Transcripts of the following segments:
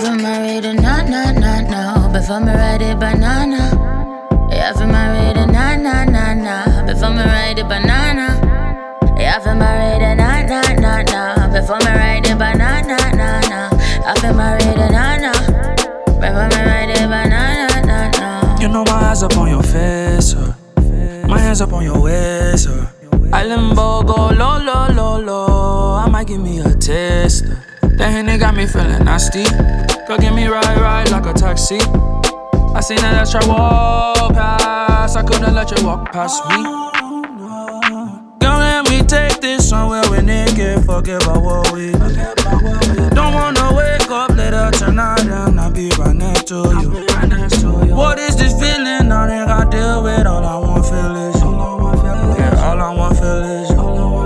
haven't married a no. Before me ride a banana. You haven't married a no. Before me ride a banana. You haven't married a no. Before me ride a banana. Haven't married a no. Before me ride a banana. You know my eyes up on your face, my hands up on your waist, I limbo go low. I might give me a taste. That Henny got me feeling nasty. Go get me ride like a taxi. I seen that extra walk past. I couldn't let you walk past me. Girl, let me take this somewhere we naked. Forget about what we do. Don't wanna wake up later tonight and I'll be right next to you. What is this feeling? I think I deal with. All I want feel is you. Yeah, all I want feel is you.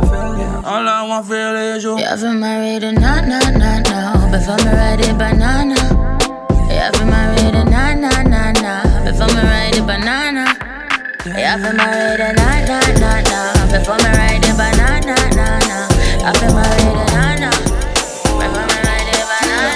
All I want feel is you. You haven't married a no. Before me ride a banana. You haven't married a no. Before me ride a banana. You haven't married a no. Before me ride a banana. Haven't married a no. Before me ride a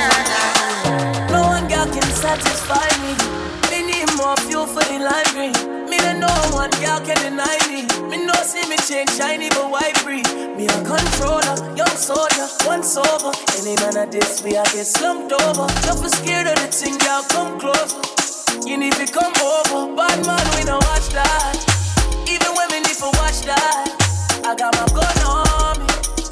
banana. No one girl can satisfy me. Me need more fuel for the lime green. Me no one girl can deny me. Me no see me change shiny but white breed. Me a controller, young soldier, once over. Any man of this, we I get slumped over. Don't be scared of the thing, y'all come closer. You need to come over. Bad man, we don't watch that. Even when we need to watch that. I got my gun on me.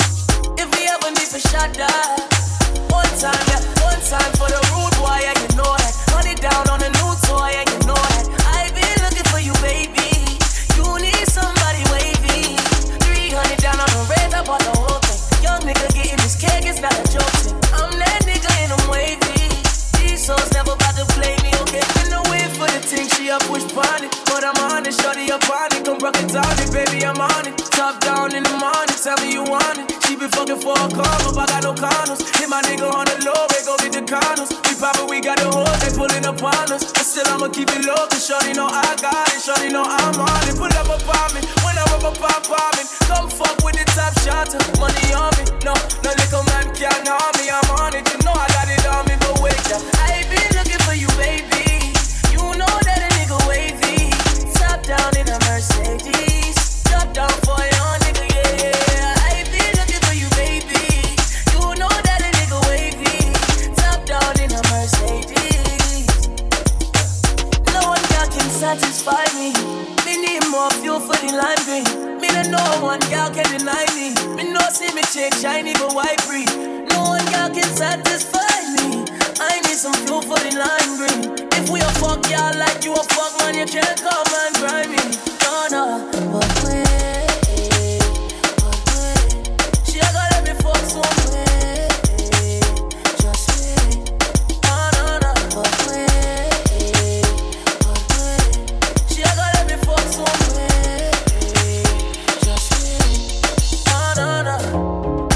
If we ever need to shot that. One time for the rude boy, yeah, you know that. Run it down on the new toy, yeah, you know that. I been looking for you, baby. You need somebody wavy. 300 down on the red, I bought the whole thing. Young nigga getting this cake, it's not a joke thing. I'm that nigga and I'm wavy. These souls never about to play me, okay? Been away for the thing, she a push on it. But I'm on it, shorty up on it. Come rock it down it, baby, I'm on it. Top down in the morning, tell me you want it. She been fucking for a come up, I got no condoms. Hit my nigga on the low, we go get the condoms. We got the hoes, they pulling up on us. But still I'ma keep it low, cause shorty know I got it. Shorty know I'm on it. Pull up a bombing, when I rub up a bombing. Come fuck with the top shot, money on me. No little man can't harm me, I'm on it. You know I got it on me, but wait up. I been looking for you, baby. You know that a nigga wavy. Top down in a Mercedes. Drop down for your nigga, yeah. I been looking for you, baby. You know that a nigga wavy. Top down in a Mercedes. No one girl can satisfy me. Me need more fuel for the lime green. Me no one girl can deny me. Me no see me change shiny but white breed. No one girl can satisfy me. I need some fuel for the lime green. If we a fuck y'all like you a fuck man, you can't come and grind me. No, but wait. She a gonna let me fuck some way. Just wait. No, but wait. She a gonna let me fuck some way. Just wait. No.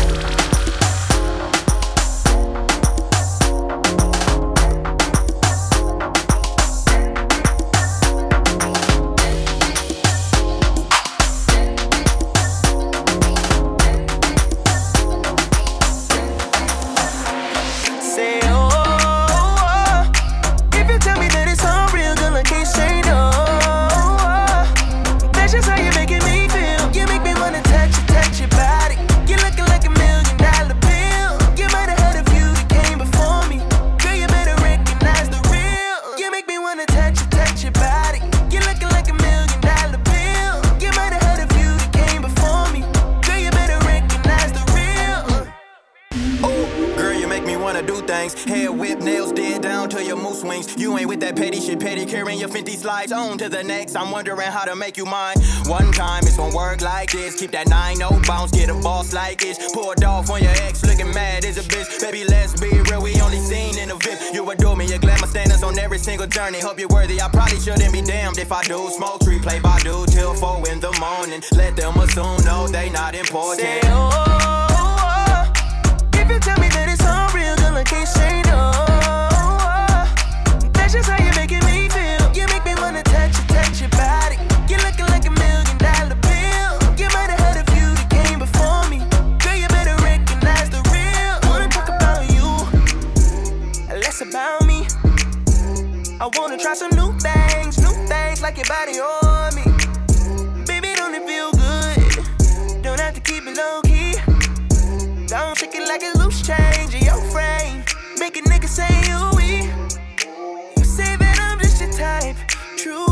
Hair whip, nails dead down to your moose wings. You ain't with that petty shit, pedicure your 50 slides. On to the next, I'm wondering how to make you mine. One time, it's gonna work like this. Keep that 9-0 bounce, get a boss like this. Poured off on your ex, looking mad as a bitch. Baby, let's be real, we only seen in a VIP. You adore me, your glamour standards on every single journey. Hope you're worthy, I probably shouldn't be damned if I do. Smoke tree, play by do till 4 in the morning. Let them assume, no, they not important. Say, if you tell me that it's unreal, girl, I can't say no. That's just how you're making me feel. You make me wanna touch your body. You're looking like $1 million bill. You might have heard of you that came before me. Girl, you better recognize the real. Wanna talk about you. Less about me. I wanna try some new things like your body on me. Baby, don't it feel good? Don't have to keep it low key. Don't shake it like it's loose change in your frame. Make a nigga say ooh-wee. You say that I'm just your type. True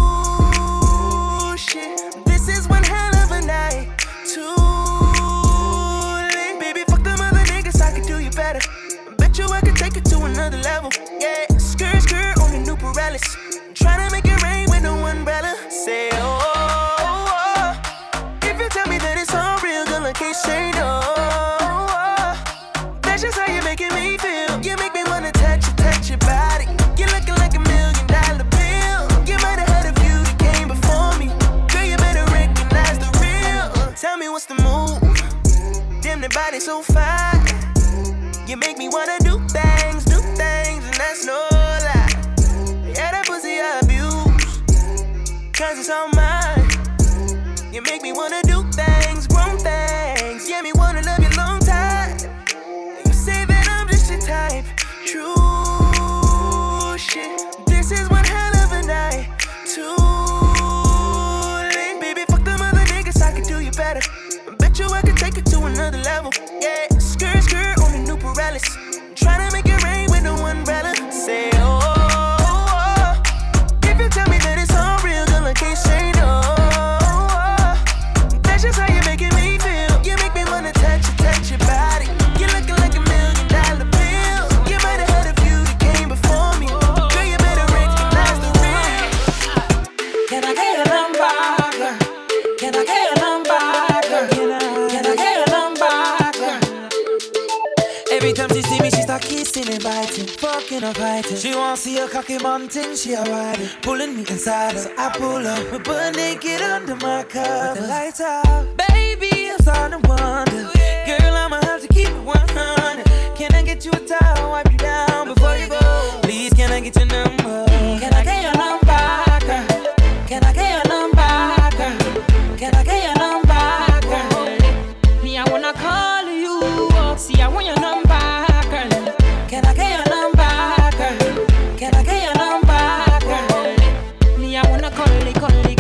shit. This is one hell of a night. Too late. Baby, fuck them other niggas, I could do you better. Bet you I could take it to another level. Yeah, skirt on the new Pirellis. Tryna make it rain with no umbrella. Say oh. If you tell me that it's all real, girl, I can't say no. That's just how you're making me feel. You make me wanna touch your body. You're looking like $1 million bill. You might have heard a few that came before me. Girl, you better recognize the real. Tell me what's the move. Damn, the body so fine. You make me wanna do things, and that's no lie. Yeah, that pussy I abuse, 'cause it's all mine. You make me wanna do things, grown things. Yeah, me wanna love you long time. You say that I'm just your type. True shit. This is one hell of a night. Too late. Baby, fuck them other niggas, I could do you better. Bet you I could take it to another level. Yeah, skirt on the new Pirellis. Tryna make it rain with no umbrella. Say oh. If you tell me that it's all real, girl, I can't say no. That's just how you're making me feel. You make me wanna touch your body. You're looking like $1 million bill. You might have heard a few that came before me. Girl, you better recognize the real. Can I get a number, girl? Can I get a number, girl? Can I get a number, girl? Every time she see me, she start kissing and biting, fucking or fighting. She won't see a cocky mountain, she a riding, pulling me inside her. So I pull up, we're butt naked under my cover. With the lights out, baby, I'm starting to wonder. Girl, I'ma have to keep it 100. Can I get you a towel, wipe you down before you go? Please, can I get your number? Can I get your number, girl? Can I get your number, girl? Can I get your number, girl? Me, I wanna call you. See, I want your number, girl. Can I get your number, girl? Can I get your number, girl? Me, I wanna call you.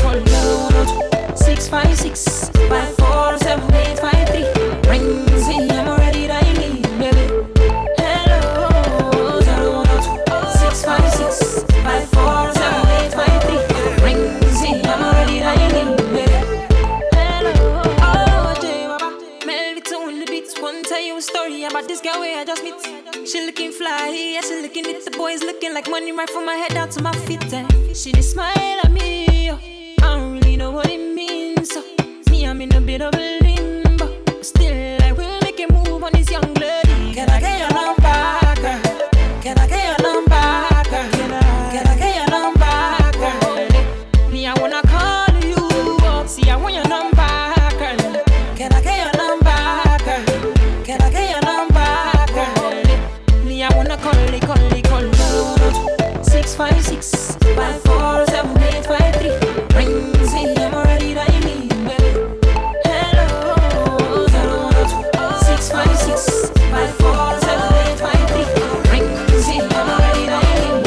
656 547 853. Rings in, I'm already dialing, baby. Hello, 656 547 853. Rings in, I'm already dialing, baby. Hello, oh, J Baba, Melvito on the beats. One tell you a story about this girl where I just meet. She looking fly, yeah, she looking at the boys looking like money right from my head down to my feet. She just smile at me, I don't really know what it means. So me, I'm in a bit of a limbo. Still, I will make a move on this young lady. Can I get your number, girl? Can I get your number, girl? Can I get your number, girl? Me, I wanna call you. See, I want your number, girl. Can I get your number, girl? Can I get your number, girl? Me, I wanna call you. 656 547 853. Rings in, I'm already dialing, baby. Hello, 656 547 853. Rings in, I'm already dialing,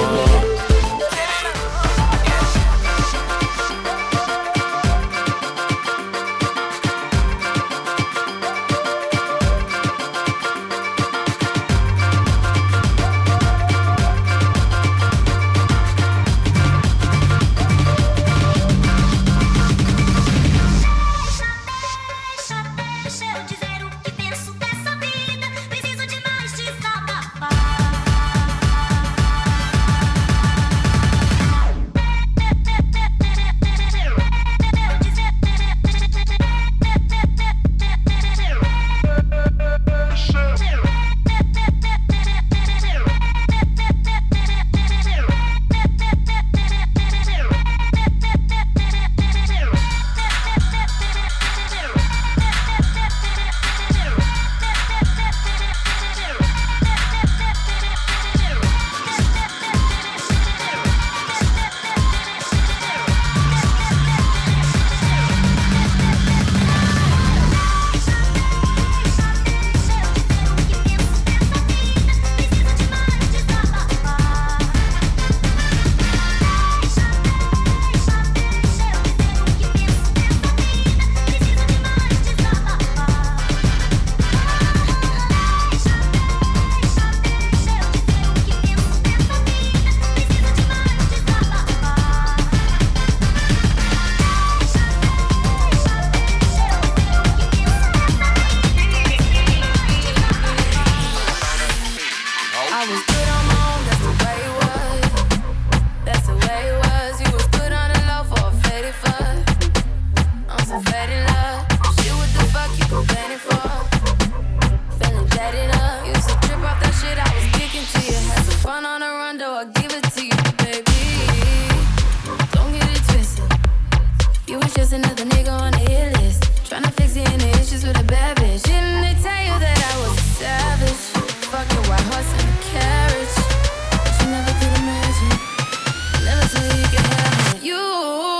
I was good on my own, that's the way it was. That's the way it was. You was good on the low for a faded fuck. On some faded love. Shit, what the fuck you complaining for? Feeling jaded up. Used to trip off that shit I was kicking to you. Had some fun on the run, though I give it to you, baby. Don't get it twisted. You was just another nigga on the hit list. Tryna fix any issues with a bad bitch. Didn't they tell you that I was a savage? Fucking white horse and a carriage. But you never could imagine. Never till you can have it. You.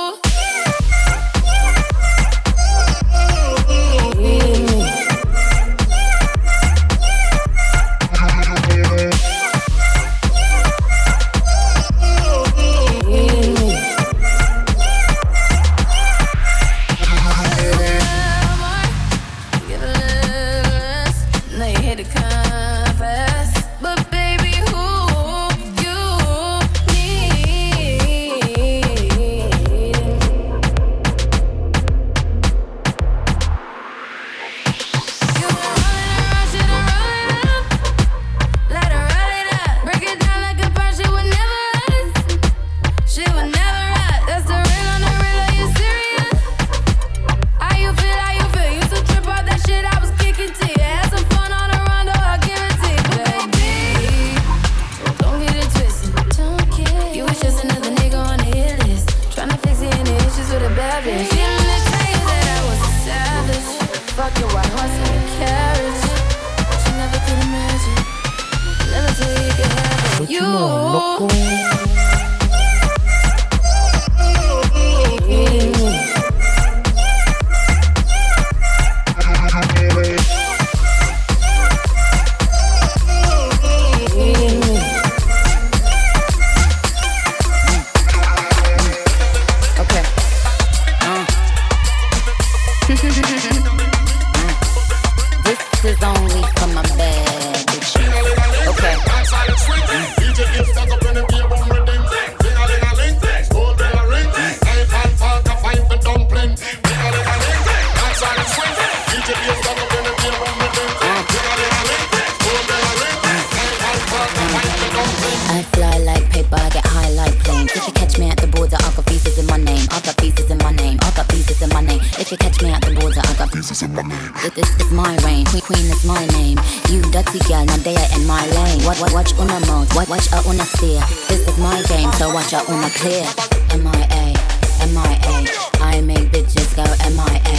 Clear. MIA, MIA, I make bitches go MIA.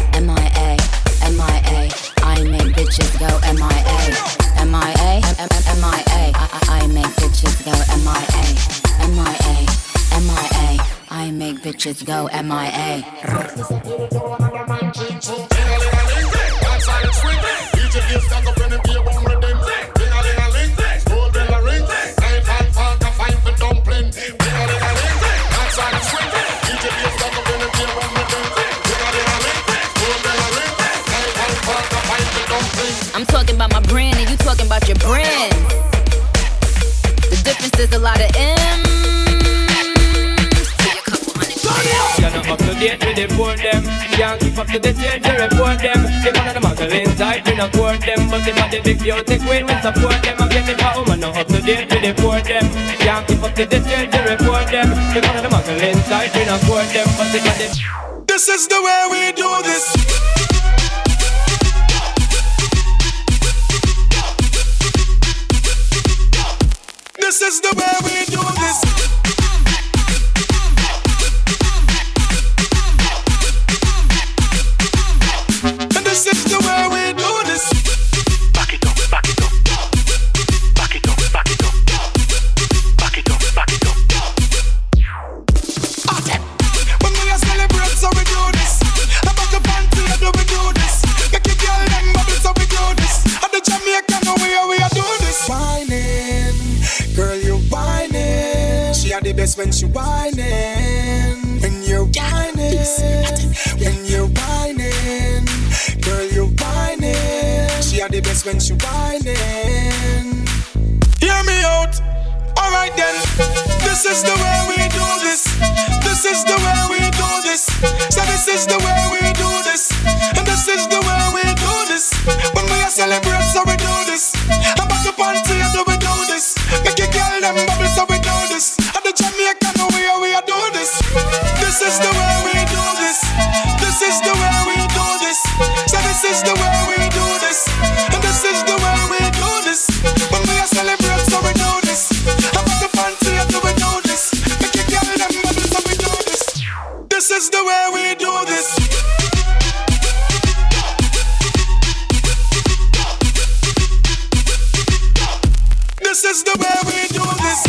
MIA, MIA, I make bitches go MIA. MIA, MIA, I make bitches go MIA. MIA, MIA, I make bitches go MIA. I'm talking about my brand and you talking about your brand. The difference is a lot of M's to a couple $100. You're not up to date with the board them. Can't keep up to the change to report them. If one of the muggle inside, we not court them. But if I the big beauty queen, we support them. I'm getting my woman not up to date with the board them. Can't keep up to the change to report them. If one of the muggle inside, we not court them. But if I the... This is the way we do this. This is the way we do this. And this is the way we do this. Back it up, back it up. Back it up, back it up. Back it up, back it up. When we are celebrate, so we do this. About the party, how do we do this? Make it girl them bubble, so we do this. At the Jamaican, we are doing this. Whining. Girl, you're whining. She had the best when she whining. When you're whining. When you're whining. Girl, you're whining. She had the best when she whining. Hear me out. Alright then. This is the way we do this. This is the way we do this. So this is the way we do this. And this is the way we do this. When we are celebrate, so we do this. About the party, how do we do this? them bubbles, so we do this. At the Jamaican way, we are do this. This is the way we do this. This is the way we do this. So this is the way we do this. And this is the way we do this. When we are celebrate, so we do this. I'm at the fancy, so we do this. Make you carry them bubbles, so we do this. This is the way we do this. This is the way we do this.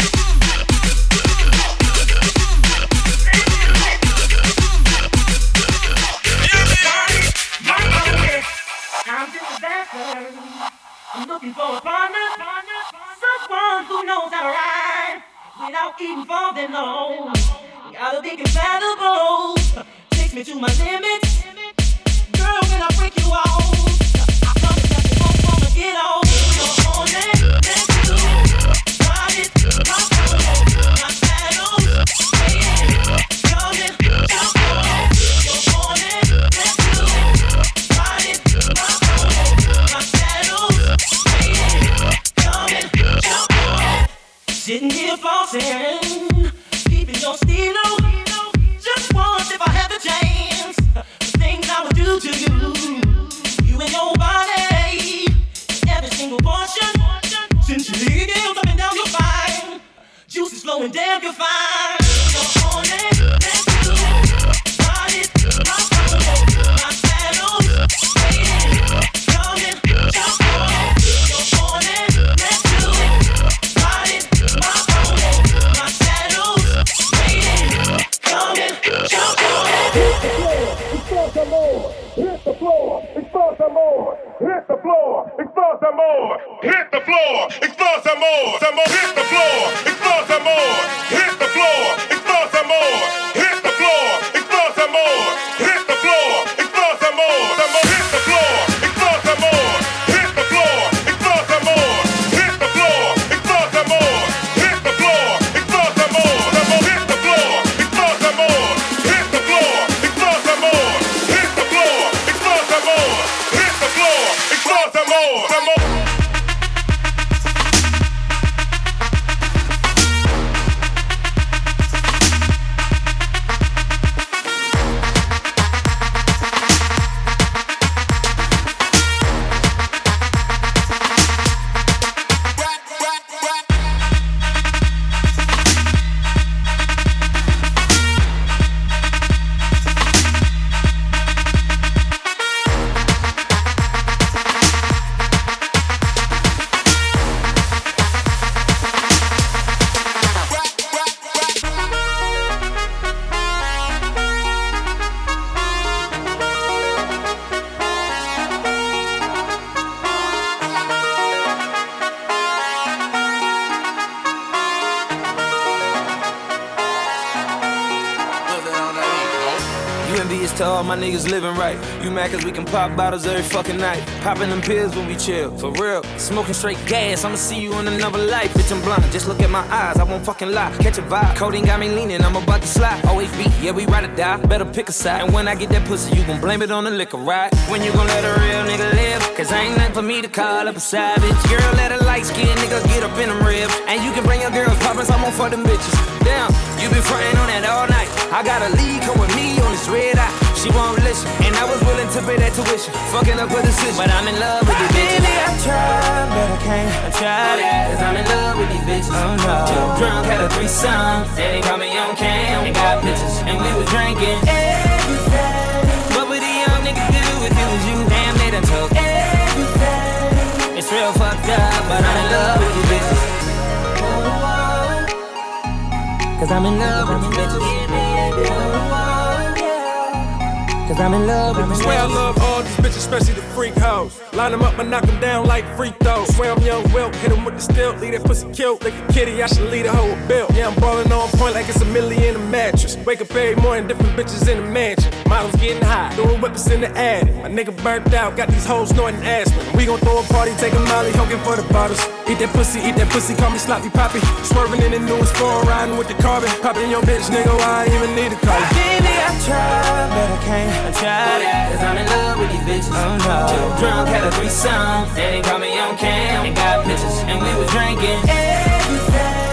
I'm just a dancer. I'm looking for a partner, someone who knows how to ride without even falling low. Gotta be compatible. Takes me to my limits. Girl, when I break you off, I promise that you won't wanna get off. You're on it, let's do it. Ride it, rock it, my saddle, sway it, come and jump on it. You're on it, let's do it. Ride it, rock it, my saddle, sway it, come and jump on it. Sitting here flossing, keeping your stilo. Just once if I had the chance, the things I would do to you. You and your body, every single portion. Since you leave it up and down your spine, juice is flowing down your fine. You're on it, let's do it. Ride it, rock it, my saddle, sway it, come and jump on it. You're on it, let's do it. Ride it, rock it, my saddle, sway it, come and jump on it. Explore some more. Hit the floor. Explore some more. Hit the floor. Explore some more. Hit the floor. Explore some more. Some more. Hit the floor. Explore some more. Hit the floor. Explore some more. Hit the floor. Explore some more. Hit the floor. Explore some more. Some more. Hit the floor. Explore some more. Hit the floor. Explore some more. Hit the floor. Explore some more. Hit the floor. Explore some more. Some more. Hit the floor. Explore some more. Hit the floor. Explore some more. Hit the floor. Explore some more. Hit the floor. Explore some more. Some more. To all my niggas living right. You mad cause we can pop bottles every fucking night. Popping them pills when we chill, for real. Smoking straight gas, I'ma see you in another life. Bitch, I'm blind, just look at my eyes, I won't fucking lie. Catch a vibe, codeine got me leaning, I'm about to slide. Always be, yeah, we ride or die, better pick a side. And when I get that pussy, you gon' blame it on the liquor, right? When you gon' let a real nigga live? Cause ain't nothing for me to call up a savage. Girl, let a light skin nigga get up in them ribs. And you can bring your girls poppin', so I'm on for them bitches. Damn, you been frontin' on that all night. I got a lead, come with me on this red eye. She won't listen, and I was willing to pay that tuition. Fucking up with a decision, but I'm in love with these bitches. Baby, I tried, but I can't. I tried it, cause I'm in love with these bitches. Oh no. Too drunk, had a threesome. They caught me on cam, and got pictures, and we was drinking everything. What would a young nigga do if it was you? Damn, they done took everything. It's real fucked up, but I'm in love with these bitches. Cause I'm in love with these bitches. Cause I'm in love with these bitches. Swear I love all these bitches, especially the freak hoes. Line them up and knock them down like free throws. Swear I'm young Wilt, hit them with the stilt. Leave that pussy killed like a kitty, I should lead a hoe with Bill. Yeah, I'm ballin' on point like it's $1 million in a mattress. Wake up every morning, different bitches in the mansion. Models getting high, doing whippers in the attic. My nigga burnt out, got these hoes snorting aspirin. We gon' throw a party, take a molly, hokin' for the bottles. Eat that pussy, call me sloppy poppy. Swerving in the newest form, riding with the carbon. Poppin' your bitch, nigga, I ain't even need a car. Baby, I tried, but I can't. I tried it, cause I'm in love with these bitches. Oh no. Too drunk, had a threesome. They caught me on cam, and got pictures, and we was drinking everything.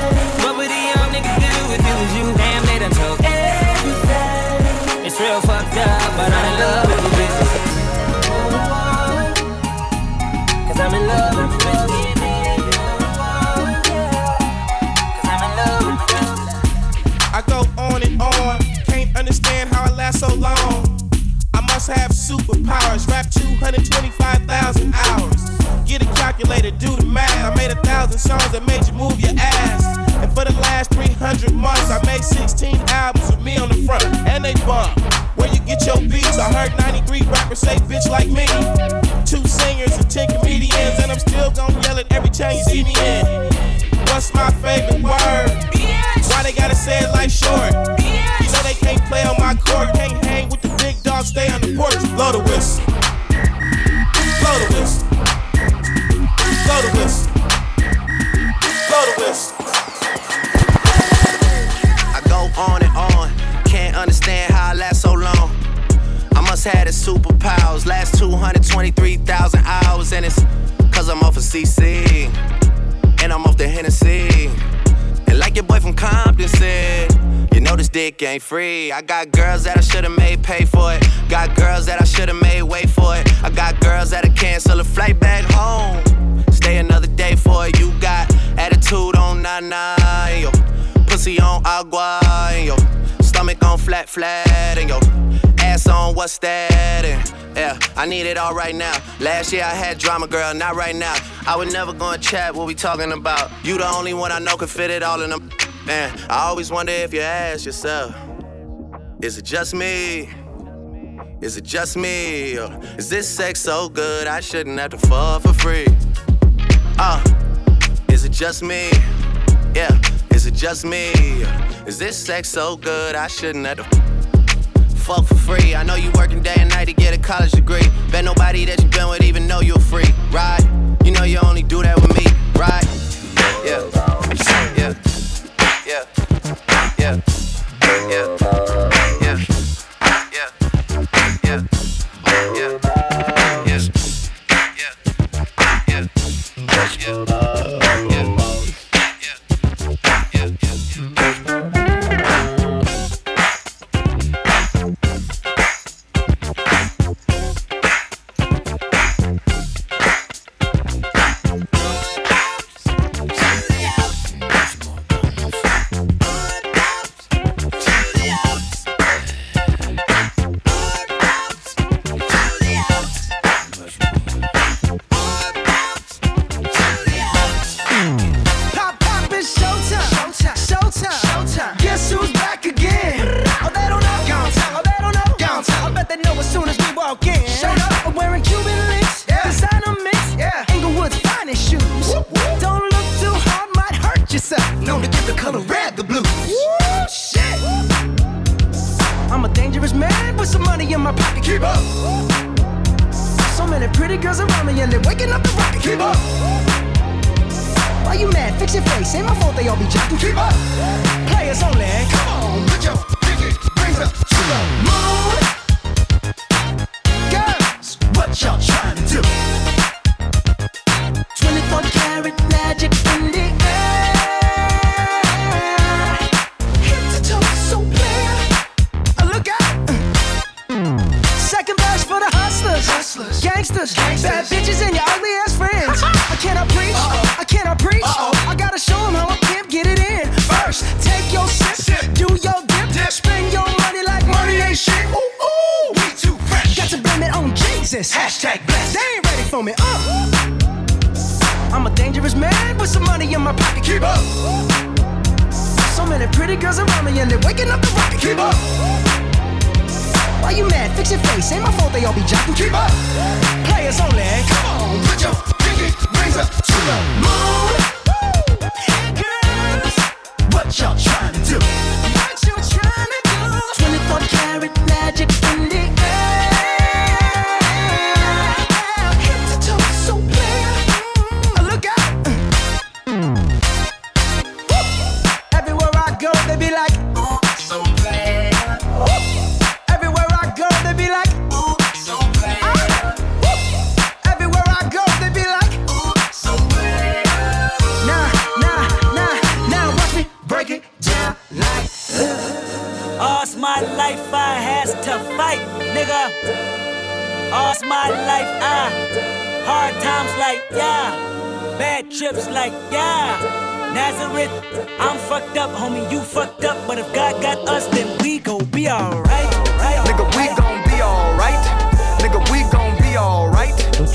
Calculator, do the math. I made 1,000 songs that made you move your ass. And for the last 300 months, I made 16 albums with me on the front, and they bump. Where you get your beats? I heard 93 rappers say bitch like me. 2 singers and 10 comedians, and I'm still gonna yell it every time you see me in. What's my favorite word? Why they gotta say it like short? You know they can't play on my court, can't hang with the big dogs, stay on the porch. Blow the whistle. Blow the whistle. Blow the whistle. Blow the whistle. I go on and on, can't understand how I last so long. I must have the superpowers, last 223,000 hours, and it's cause I'm off of CC, and I'm off the Hennessy. And like your boy from Compton said, you know this dick ain't free. I got girls that I should've made pay for it. Got girls that I should've made wait for it. I got girls that'll cancel a flight back home, stay another day for it. You got attitude on nana, and your pussy on agua, and your stomach on flat, and your ass on what's that? And yeah, I need it all right now. Last year I had drama, girl, not right now. I would never gonna chat what we talking about. You the only one I know can fit it all in them. Man, I always wonder if you ask yourself, is it just me? Is it just me? Or is this sex so good I shouldn't have to fall for free? Is it just me? Yeah, is it just me? Is this sex so good I shouldn't have to fuck for free? I know you working day and night to get a college degree. Bet nobody that you been with even know you're free, right? You know you only do that with me, right? Yeah, yeah, yeah, yeah, yeah, yeah, yeah, yeah, yeah,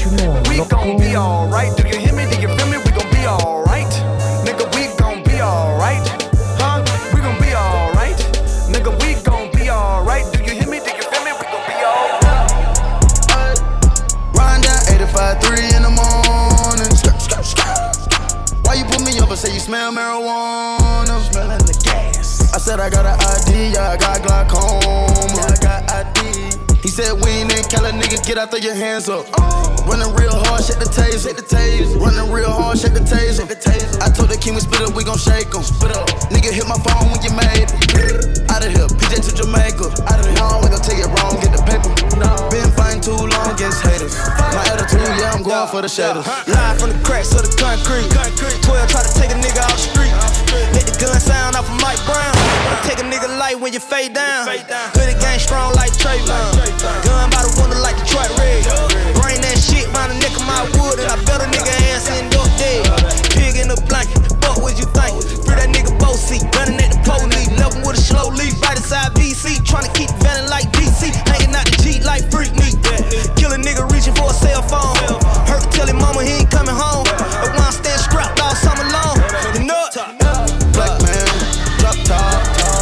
Baltimore, we gon' be alright. Do you hear me? Do you feel me? We gon' be alright. Nigga, we gon' be alright. Huh? We gon' be alright. Nigga, we gon' be alright. Do you hear me? Do you feel me? We gon' be alright. Riding down 85-3 in the morning. Why you put me up and say you smell marijuana? Smelling the gas. I said I got an ID, yeah, I got glaucoma. Yeah, I got ID. He said we ain't in Cali, nigga, get out, throw your hands up. Running real hard, shake the taser. Running real hard, shake the taser. I told the king we spit up, we gon' shake 'em. Nigga hit my phone when you made it. Out of here, PJ to Jamaica. No, we gon' take it wrong, get the paper. Been fighting too long against haters. My attitude, yeah, I'm going for the shadows. Live from the cracks of the concrete. 12 try to take a nigga off the street. Let the gun sound off of Mike Brown. Take a nigga light when you fade down. Hoodie gang strong like Trayvon. Gun by the window like Detroit Red. Bring that shit round the neck of my wood, and I bet a nigga ass end up dead. Pig in the blanket, fuck what you think? Free that nigga both seat, gunning at the police. Left him with a slow leaf, right inside VC. Tryna keep vanning like DC, hanging out the G like freak me. Kill a nigga reaching for a cell phone. Hurt to tell him mama he ain't coming home. But when I stand strapped all summer long, you know it. Black man, drop top.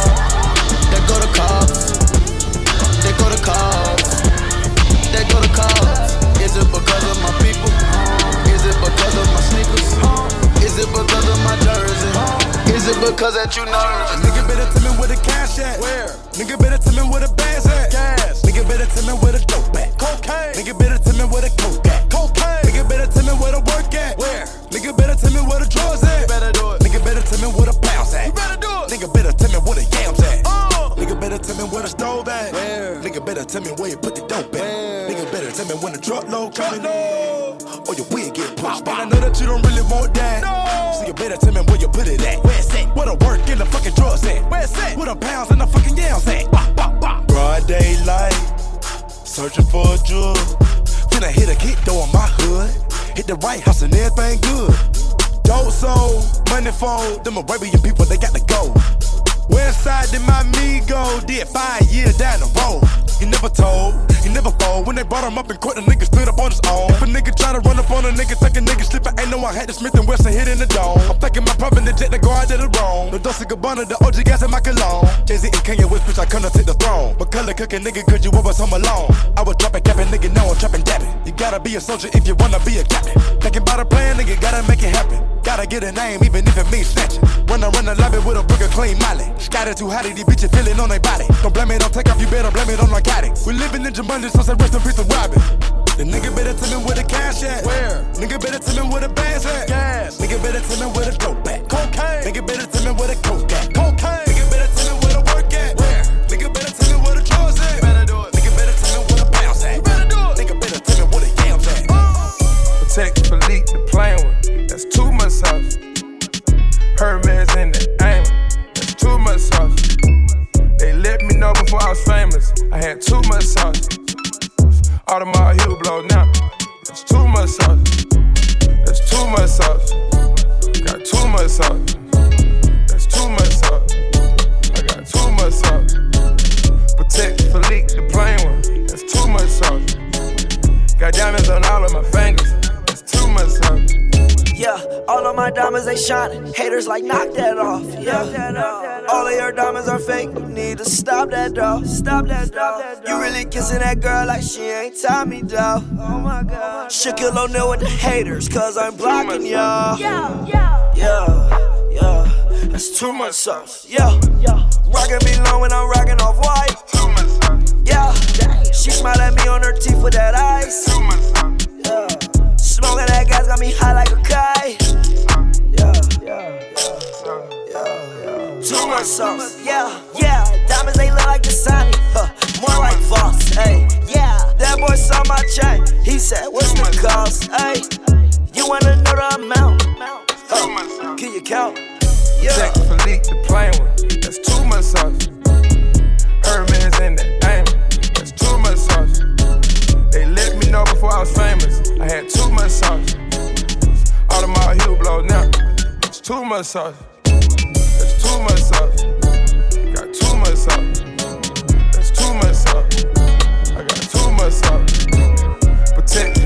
They go to cops. They go to cops. They go to cops. Is it because of my people? Is it because of my sneakers? Is it because of my jersey? Is it because that you nervous? Nigga better tell me where the cash at. Where? Nigga better tell me where the bags at. Gas. Nigga better tell me where the dope at. Cocaine. Nigga better tell me where the coke at. Cocaine. Nigga better tell me where the work at. Where? Nigga better tell me where the drugs at. You better do it. Nigga better tell me where the pounds at. You better do it. Nigga better tell me where the yams at. Nigga better tell me where the stove at. Where? Nigga better tell me where you put the dope at. Where? Nigga better tell me when the truckload coming in. Or your wig get pushed by. I know that you don't really want that. No. So you better tell me where you put it at. Where it's at? Where the work in the fucking drugs at? Where it's at? Where the pounds and the fucking yams at? Broad daylight, searching for a drug. Finna hit a kick though in my hood. Hit the White House and everything good. Dope soul, money fold. Them Arabian people, they got to go. Westside did my amigo, did 5 years down the road. He never told, he never fold. When they brought him up in court, the nigga stood up on his own. If a nigga try to run up on a nigga, think a nigga slippin', ain't no I had to Smith and Wesson hit in the dome. I'm thinking my pump in the jet to go out to the wrong. The Dolce Gabbana, the OG gas in my cologne. Jay-Z and Kanye West, bitch, I come to take the throne. But color cooking nigga, could you always home alone? I was dropping, capping, nigga, now I'm trapping, dabbing. You gotta be a soldier if you wanna be a captain. Thinking about a plan, nigga, gotta make it happen. Gotta get a name, even if it means snatching. Run the lobby with a burger clean molly. Scattered too hot, these bitches feeling on their body. Don't blame it, don't take off, you better blame it on narcotics. We living in Jumanji, so say rest in peace to Robin. The nigga better tell me where the cash at. Where? Nigga better tell me where the bags at. Gas. Nigga better tell me where the dope at. Cocaine. Nigga better tell me where the coke at. Cocaine. Nigga better tell me where the work at. Where? Nigga better tell me where the drugs at. You better do it. Nigga better tell me where the pounds at. You better do it. Nigga better tell me where the yams at. Protect Philippe, the plain one. That's too much sauce. Hermes in the aim. That's too much sauce. They let me know before I was famous. I had too much sauce. Audemars Hublot now. That's too much sauce. That's too much sauce. Got too much sauce. That's too much sauce. I got too much sauce. Protect Philippe, the plain one. That's too much sauce. Got diamonds on all of my fingers. That's too much sauce. Yeah, all of my diamonds, they shining. Haters like, knock that off. Yeah, all of your diamonds are fake. You need to stop that, dog. Stop that, dog. You really kissing that girl like she ain't Tommy, dog. Oh my God. Shaquille O'Neal with the haters, cause I'm blocking y'all. Yeah, that's too much sauce. Yeah, rockin' me long when I'm rockin' off white. Yeah, she smile at me on her teeth with that ice. Yeah. Smoking that gas got me high like a kite. Too much sauce. Yeah. Diamonds they look like Dasani. More like Voss. Hey, yeah. That boy saw my chain. He said, "What's the cost?" Hey, you wanna know the amount? Can you count? Yeah. Check Philippe, the plain one. That's too much sauce. Hermes in the aim. That's too much sauce. They let me know before I was famous. I had too much sauce. Audemars Hublot now. It's too much sauce. That's too much sauce. Got too much sauce. That's too much sauce. I got too much sauce. Protect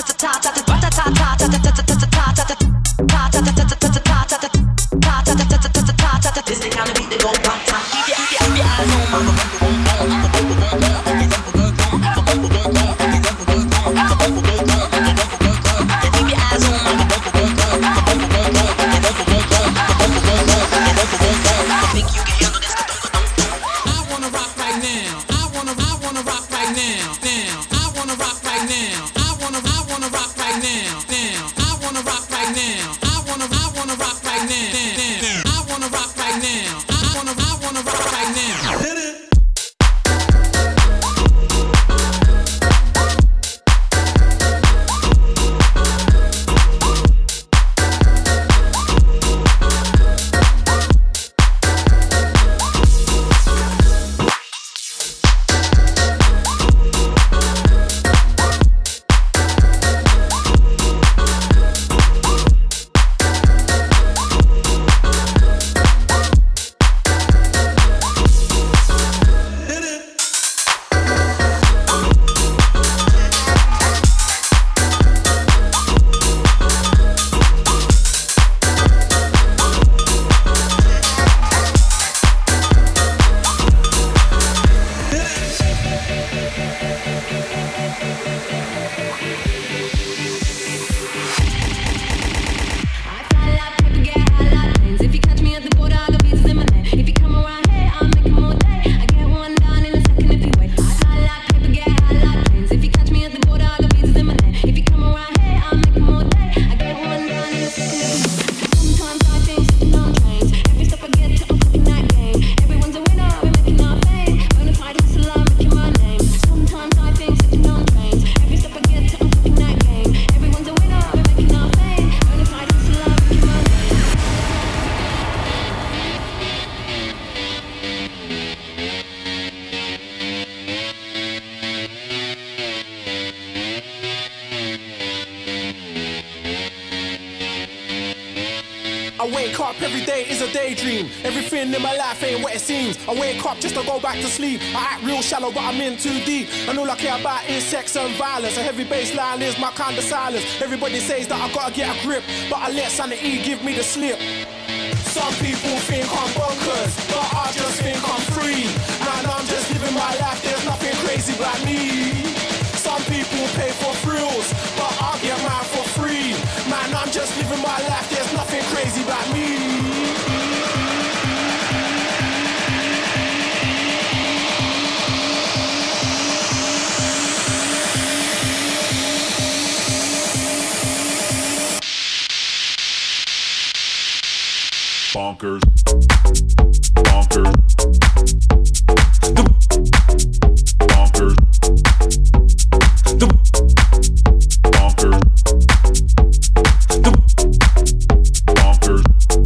This the kind of beat that go pop top. Keep your eyes on my keep your eyes on my right now. I wanna rock right now. I wanna rock right now. I wanna rock right now. I wanna rock right now. I wanna rock right now. Hit it. I wake up every day is a daydream. Everything in my life ain't what it seems. I wake up just to go back to sleep. I act real shallow, but I'm in too deep. And all I care about is sex and violence. A heavy bass line is my kind of silence. Everybody says that I gotta get a grip, but I let sanity give me the slip. Some people think I'm bonkers, but I just think I'm free. Man, I'm just living my life, there's nothing crazy about me. Some people pay for thrills, but I get mine for free. Man, I'm just living my life, there's nothing crazy about me. Bonkers. Bonkers. Bonkers. Bonkers. Bonkers.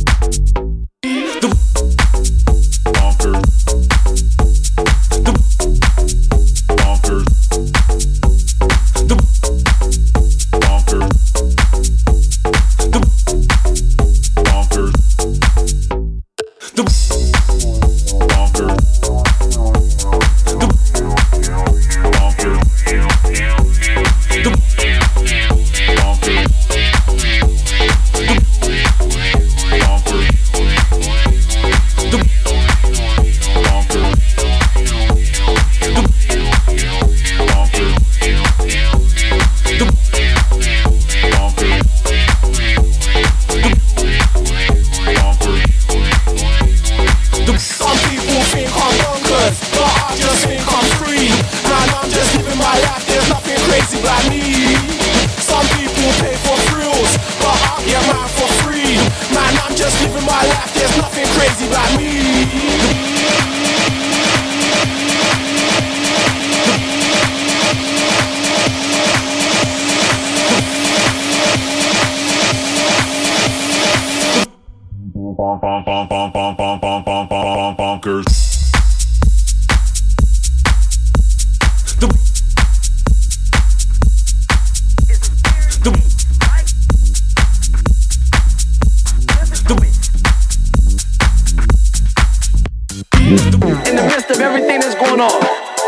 In the midst of everything that's going on,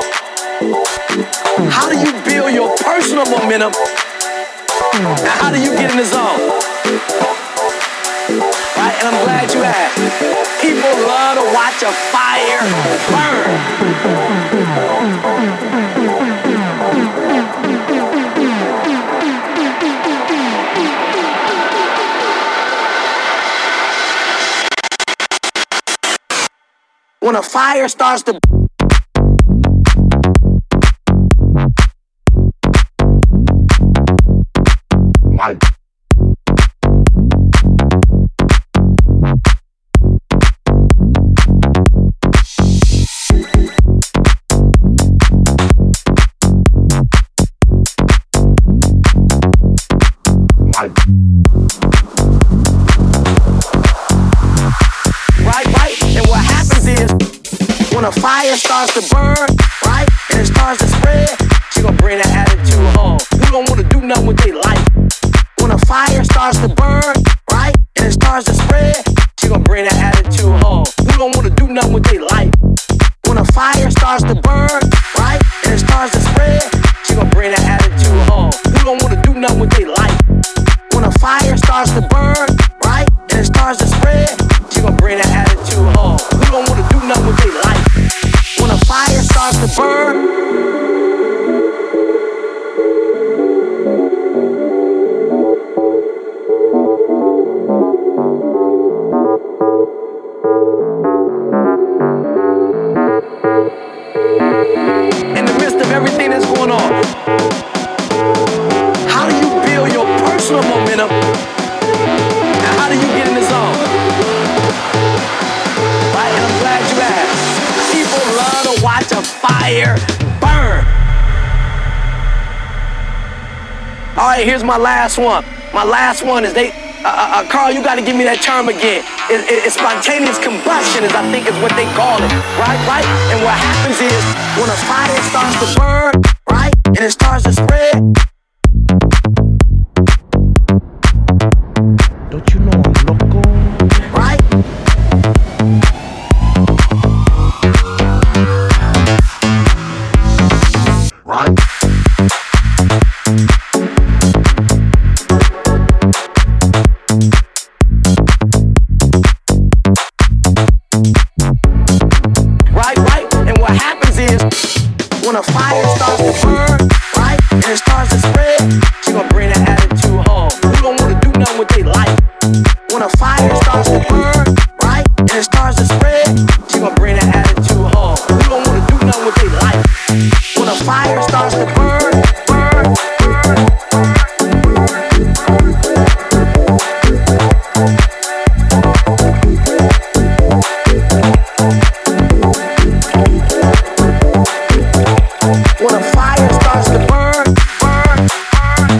how do you build your personal momentum? And how do you get in the zone? Right, and I'm glad you asked. People love to watch a fire burn. When a fire starts to When a fire starts to burn, right, and it starts to spread, she gon' bring that attitude home. Who don't wanna do nothing with their life? When a fire starts to burn, right, and it starts to spread, she gon' bring that attitude home. Who don't wanna do nothing with their life? When a fire starts to burn, right, and it starts to spread, she gon' bring that attitude home. Who don't wanna do nothing with their life? When a fire starts to burn, right, and it starts to spread, she gon' bring that attitude home. Who don't wanna do nothing with their life? When a fire starts to burn, in the midst of everything that's going on, how do you build your personal momentum? And how do you get in the zone? Right, and I'm glad you asked. People love to watch a fire burn. All right, here's my last one. My last one is Carl, you gotta give me that term again. It's spontaneous combustion, is I think is what they call it, right? And what happens is, when a fire starts to burn, right, and it starts to spread, don't you know I'm loco, right? Right. When a fire starts to burn, right, and it starts to spread, she gon' bring that attitude home. Who don't wanna do nothing with their life? When a fire starts to burn, right, and it starts to spread, she gon' bring that attitude home. Who don't wanna do nothing with their life? When a fire starts to burn, burn, burn. When a fire starts to burn, burn, burn.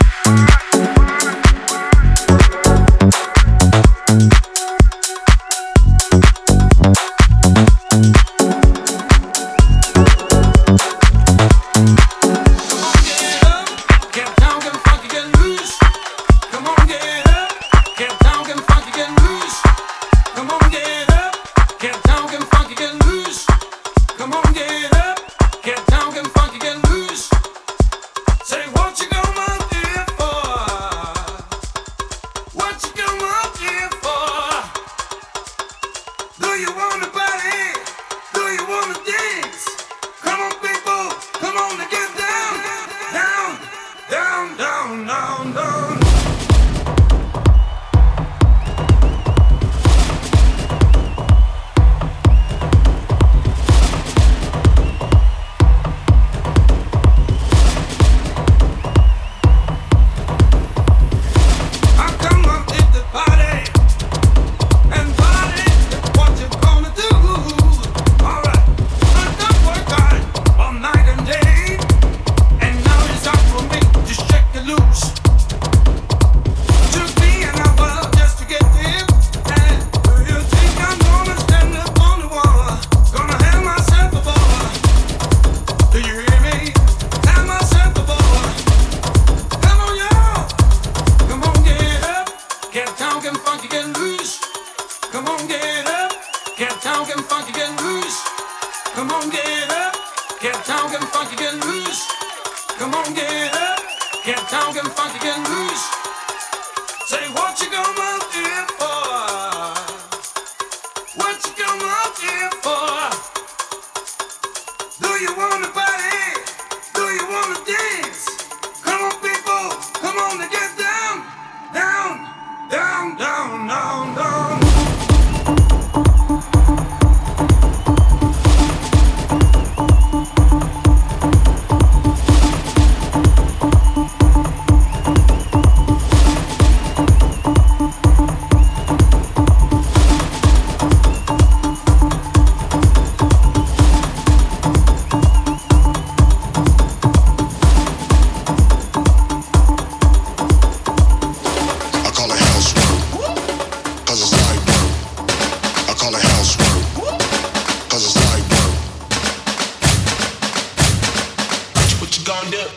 gon' do?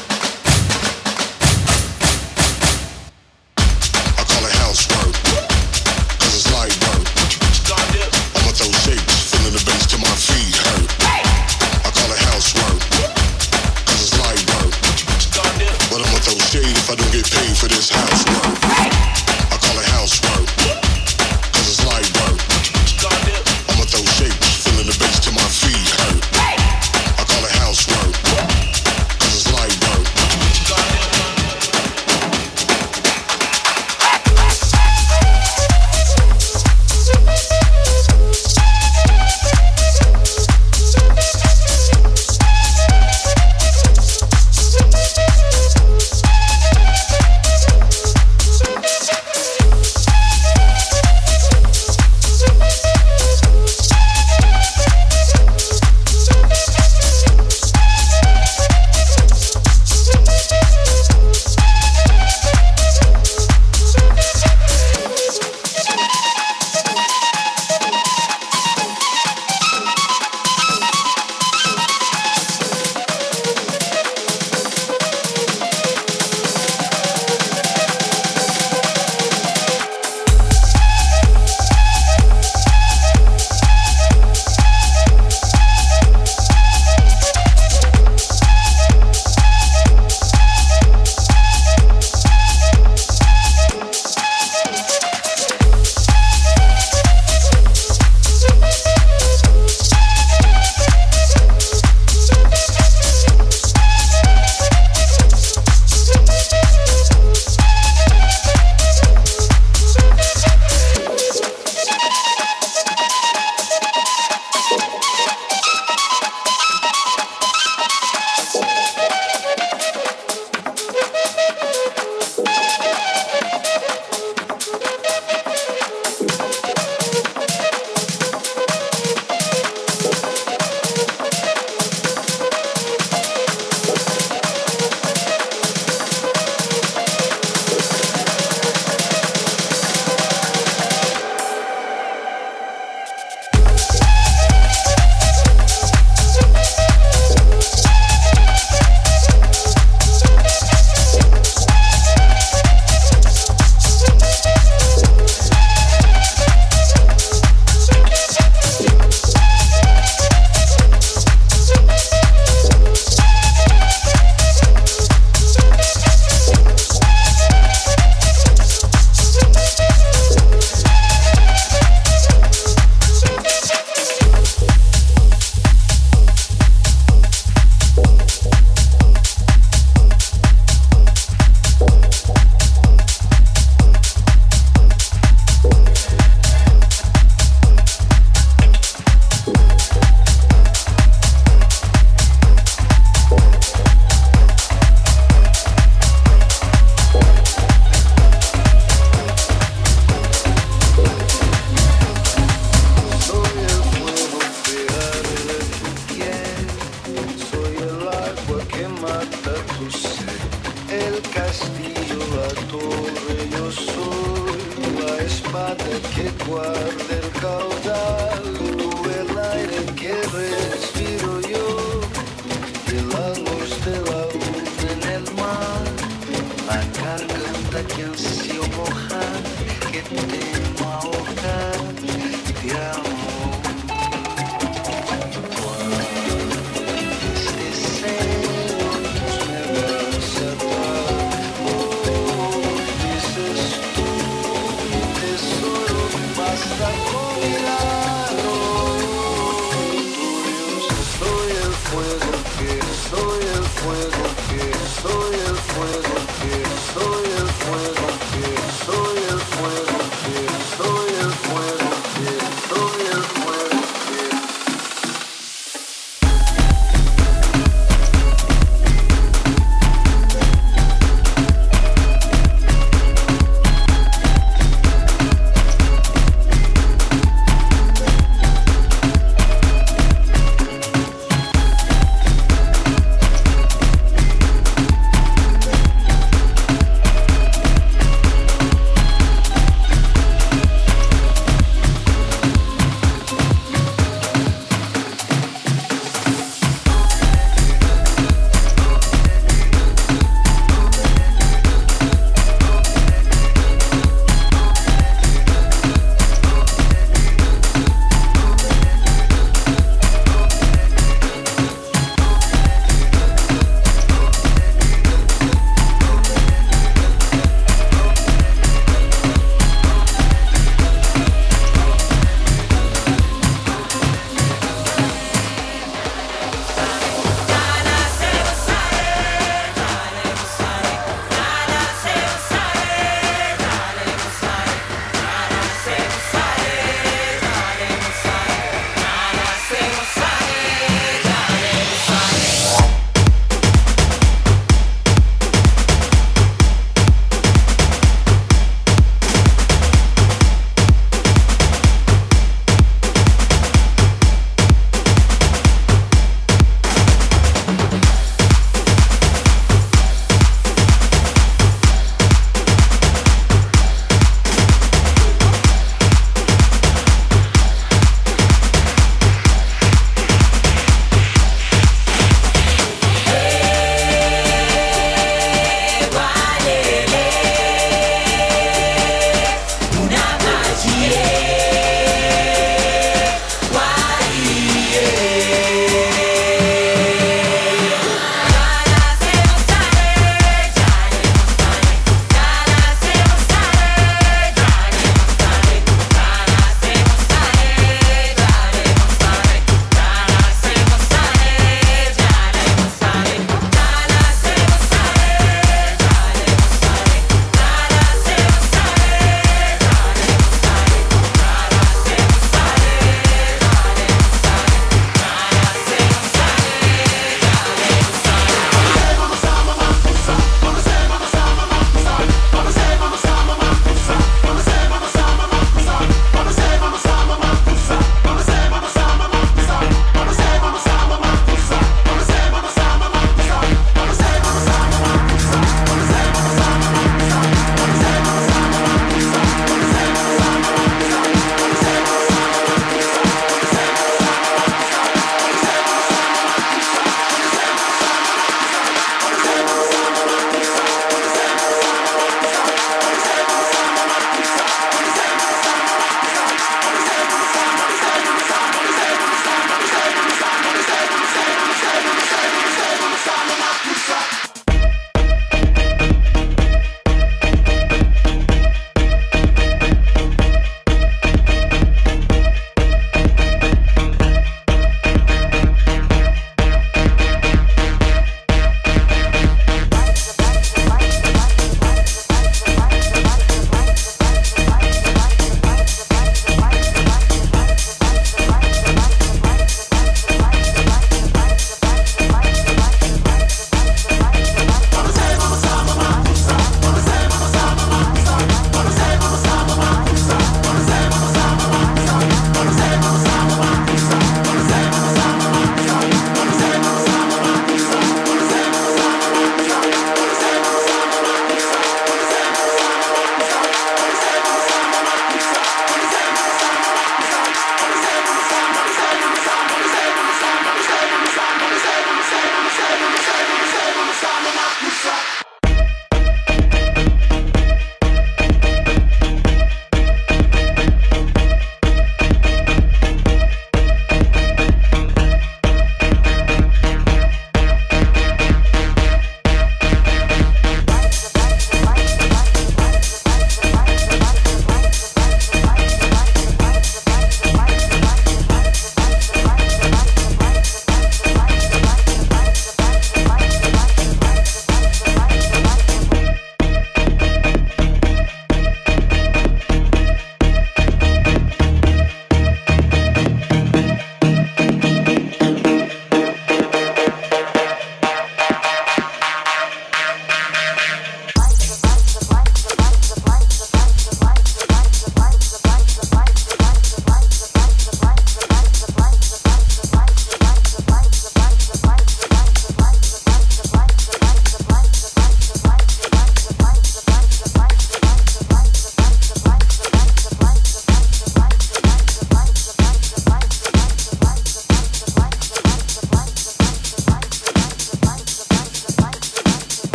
I call it housework, cause it's light work. I'ma throw shapes, feeling the bass till my feet hurt. I call it housework, cause it's light work. But I'ma throw shade if I don't get paid for this housework. I call it housework, cause it's light work. I'ma throw shapes, feeling the bass till my feet hurt. I call it housework, cause it's light work.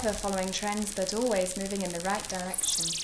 never following trends but always moving in the right direction.